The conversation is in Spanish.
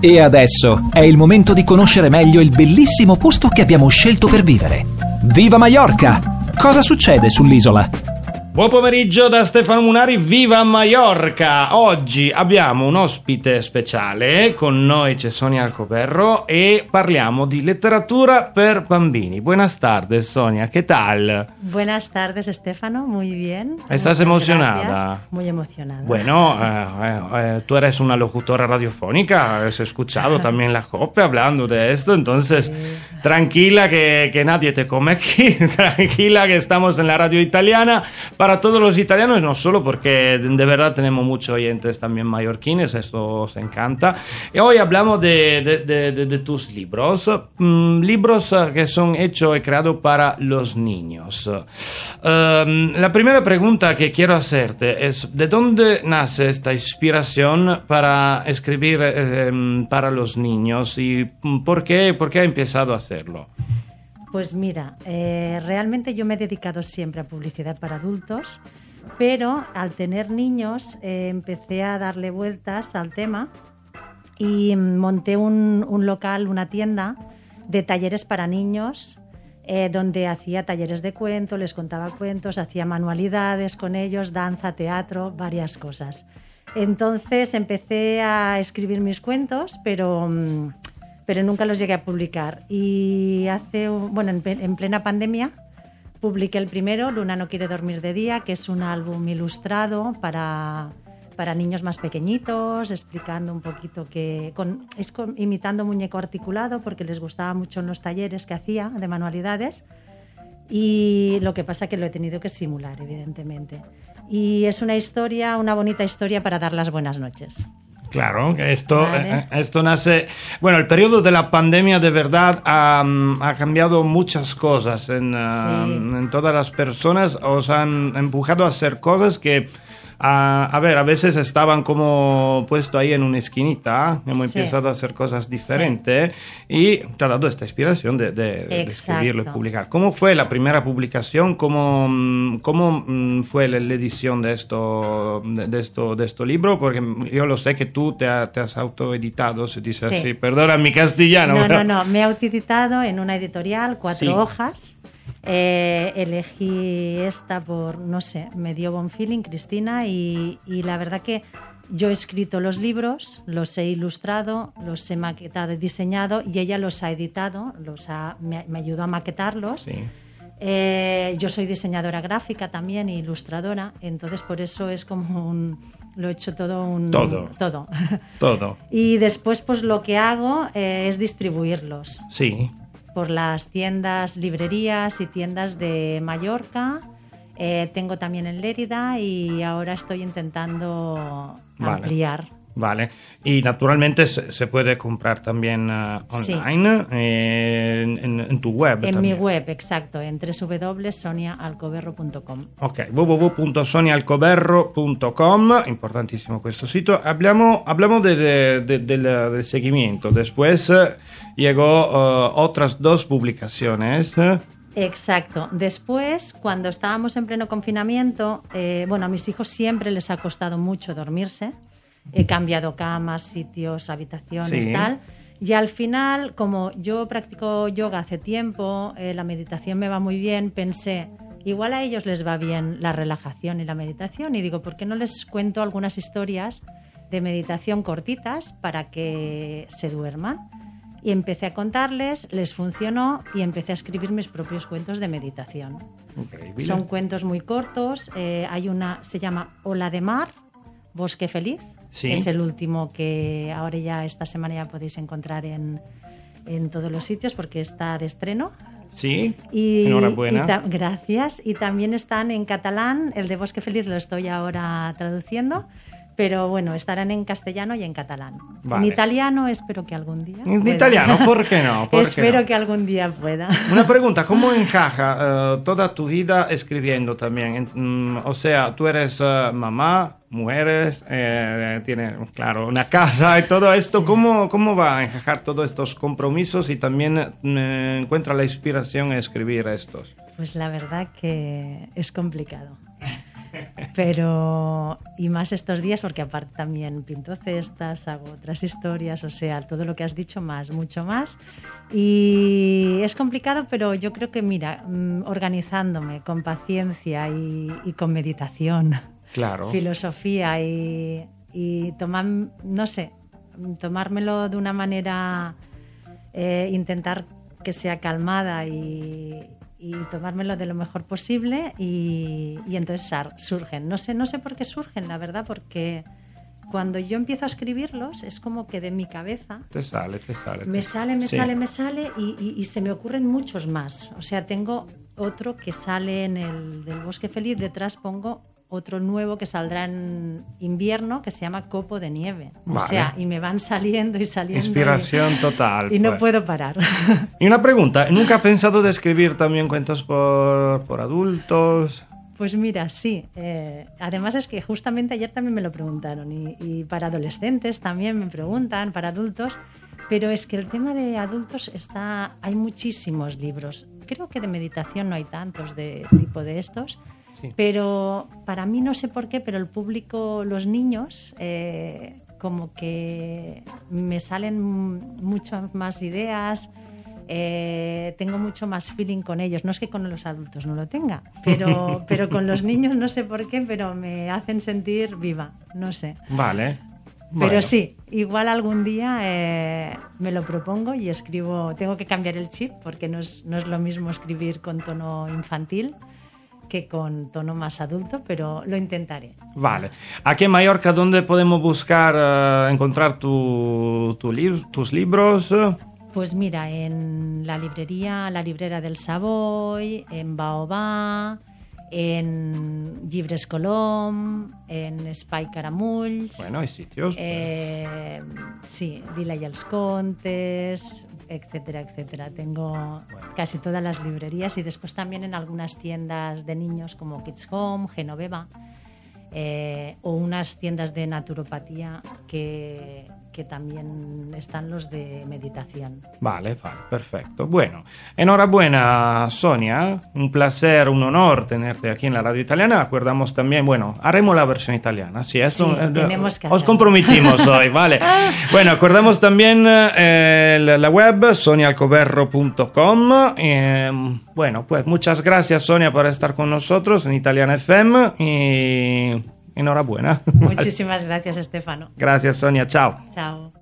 E adesso è il momento di conoscere meglio il bellissimo posto che abbiamo scelto per vivere. Viva Maiorca! Cosa succede sull'isola? Buon pomeriggio da Stefano Munari, viva Maiorca! Oggi abbiamo un ospite speciale, con noi c'è Sonia Alcoberro e parliamo di letteratura per bambini. Buenas tardes, Sonia, ¿qué tal? Buenas tardes, Stefano, muy bien. ¿Estás emocionada? Gracias. Muy emocionada. Bueno, tú eres una locutora radiofónica, has escuchado también la COPE hablando de esto, entonces sí. Tranquila que nadie te come aquí, tranquila que estamos en la radio italiana. Para todos los italianos, no solo porque de verdad tenemos muchos oyentes también mallorquines, esto os encanta. Y hoy hablamos de tus libros, libros que son hechos y creados para los niños. La primera pregunta que quiero hacerte es, ¿de dónde nace esta inspiración para escribir para los niños y por qué ha empezado a hacerlo? Pues mira, realmente yo me he dedicado siempre a publicidad para adultos, pero al tener niños empecé a darle vueltas al tema y monté un local, una tienda de talleres para niños, donde hacía talleres de cuento, les contaba cuentos, hacía manualidades con ellos, danza, teatro, varias cosas. Entonces empecé a escribir mis cuentos, pero nunca los llegué a publicar. Y en plena pandemia publiqué el primero, Luna no quiere dormir de día, que es un álbum ilustrado para niños más pequeñitos, explicando un poquito imitando muñeco articulado, porque les gustaba mucho en los talleres que hacía de manualidades. Y lo que pasa es que lo he tenido que simular, evidentemente. Y es una bonita historia para dar las buenas noches. Claro, esto nace... Bueno, el periodo de la pandemia de verdad ha cambiado muchas cosas en todas las personas, os han empujado a hacer cosas que... a veces estaban como puesto ahí en una esquinita, hemos empezado a hacer cosas diferentes y te ha dado esta inspiración de escribirlo y publicar. ¿Cómo fue la primera publicación? ¿Cómo fue la edición de este libro? Porque yo lo sé que tú te has autoeditado, se dice así, perdona mi castellano. No, me he autoeditado en una editorial, 4 hojas. Elegí esta por, no sé, me dio buen feeling Cristina y la verdad que yo he escrito los libros, los he ilustrado, los he maquetado y diseñado y ella los ha editado, me ayudó a maquetarlos. Sí. Yo soy diseñadora gráfica también e ilustradora, entonces por eso es como lo he hecho todo. Todo. Y después pues lo que hago es distribuirlos. Sí. Por las tiendas, librerías y tiendas de Mallorca. Tengo también en Lérida y ahora estoy intentando ampliar. Vale. Y naturalmente se puede comprar también online en tu web. En mi web, exacto, en www.soniaalcoberro.com. Ok, www.soniaalcoberro.com, importantísimo questo sito. Hablamos del seguimiento. Después llegó otras 2 publicaciones. Exacto. Después, cuando estábamos en pleno confinamiento, a mis hijos siempre les ha costado mucho dormirse. He cambiado camas, sitios, habitaciones, tal. Y al final, como yo practico yoga hace tiempo, la meditación me va muy bien, pensé, igual a ellos les va bien la relajación y la meditación. Y digo, ¿por qué no les cuento algunas historias de meditación cortitas para que se duerman? Y empecé a contarles, les funcionó y empecé a escribir mis propios cuentos de meditación. Increíble. Son cuentos muy cortos. Hay se llama Ola de Mar, Bosque Feliz. Sí. Es el último que ahora ya esta semana ya podéis encontrar en todos los sitios porque está de estreno. Sí, enhorabuena. Gracias. Y también están en catalán, el de Bosque Feliz lo estoy ahora traduciendo, pero bueno, estarán en castellano y en catalán. Vale. En italiano espero que algún día pueda. Italiano, ¿por qué no? Espero que algún día pueda. Una pregunta, ¿cómo encaja toda tu vida escribiendo también? O sea, tú eres mamá, mujeres, tienes, claro, una casa y todo esto. Sí. ¿Cómo va a encajar todos estos compromisos y también encuentra la inspiración a escribir estos? Pues la verdad que es complicado. Pero, y más estos días, porque aparte también pinto cestas, hago otras historias, o sea, todo lo que has dicho más, mucho más. Y es complicado, pero yo creo que, mira, organizándome con paciencia y con meditación, Claro. filosofía y tomar, no sé, tomármelo de una manera, intentar que sea calmada y tomármelo de lo mejor posible y entonces surgen. No sé por qué surgen, la verdad, porque cuando yo empiezo a escribirlos es como que de mi cabeza Te sale. me sale Sí. y se me ocurren muchos más. O sea, tengo otro que sale en el del Bosque Feliz, detrás pongo otro nuevo que saldrá en invierno que se llama Copo de Nieve. Vale. O sea, y me van saliendo y saliendo. Inspiración total. Y no pues. puedo parar. Y una pregunta, ¿nunca has pensado de escribir también cuentos por adultos? Pues mira, sí. Además es que justamente ayer también me lo preguntaron y para adolescentes también me preguntan, para adultos, pero es que el tema de adultos hay muchísimos libros. Creo que de meditación no hay tantos de tipo de estos, Sí. pero para mí no sé por qué, pero el público, los niños, como que me salen muchas más ideas. Tengo mucho más feeling con ellos. No es que con los adultos no lo tenga, pero con los niños no sé por qué, pero me hacen sentir viva, no sé. Vale. Pero Bueno. sí, igual algún día me lo propongo y escribo. Tengo que cambiar el chip porque no es lo mismo escribir con tono infantil que con tono más adulto, pero lo intentaré. Vale. Aquí en Mallorca, ¿dónde podemos buscar, encontrar tus libros? Pues mira, en la librera del Savoy, en Baobá, en Llibres Colom, en Espai Caramulls, Bueno, hay sitios. sí, Vila y els Contes, etcétera, etcétera. Tengo casi todas las librerías y después también en algunas tiendas de niños como Kids Home, Genoveva, o unas tiendas de naturopatía que también están los de meditación. Vale, perfecto. Bueno, enhorabuena, Sonia. Un placer, un honor tenerte aquí en la radio italiana. Acordamos también, bueno, haremos la versión italiana. Sí, esto, Sí, tenemos que os hacerlo. comprometimos hoy, vale. Bueno, acordamos también la web sonialcoberro.com. Bueno, pues muchas gracias, Sonia, por estar con nosotros en Italiana FM y enhorabuena. Muchísimas gracias, Estefano. Gracias, Sonia. Chao. Chao.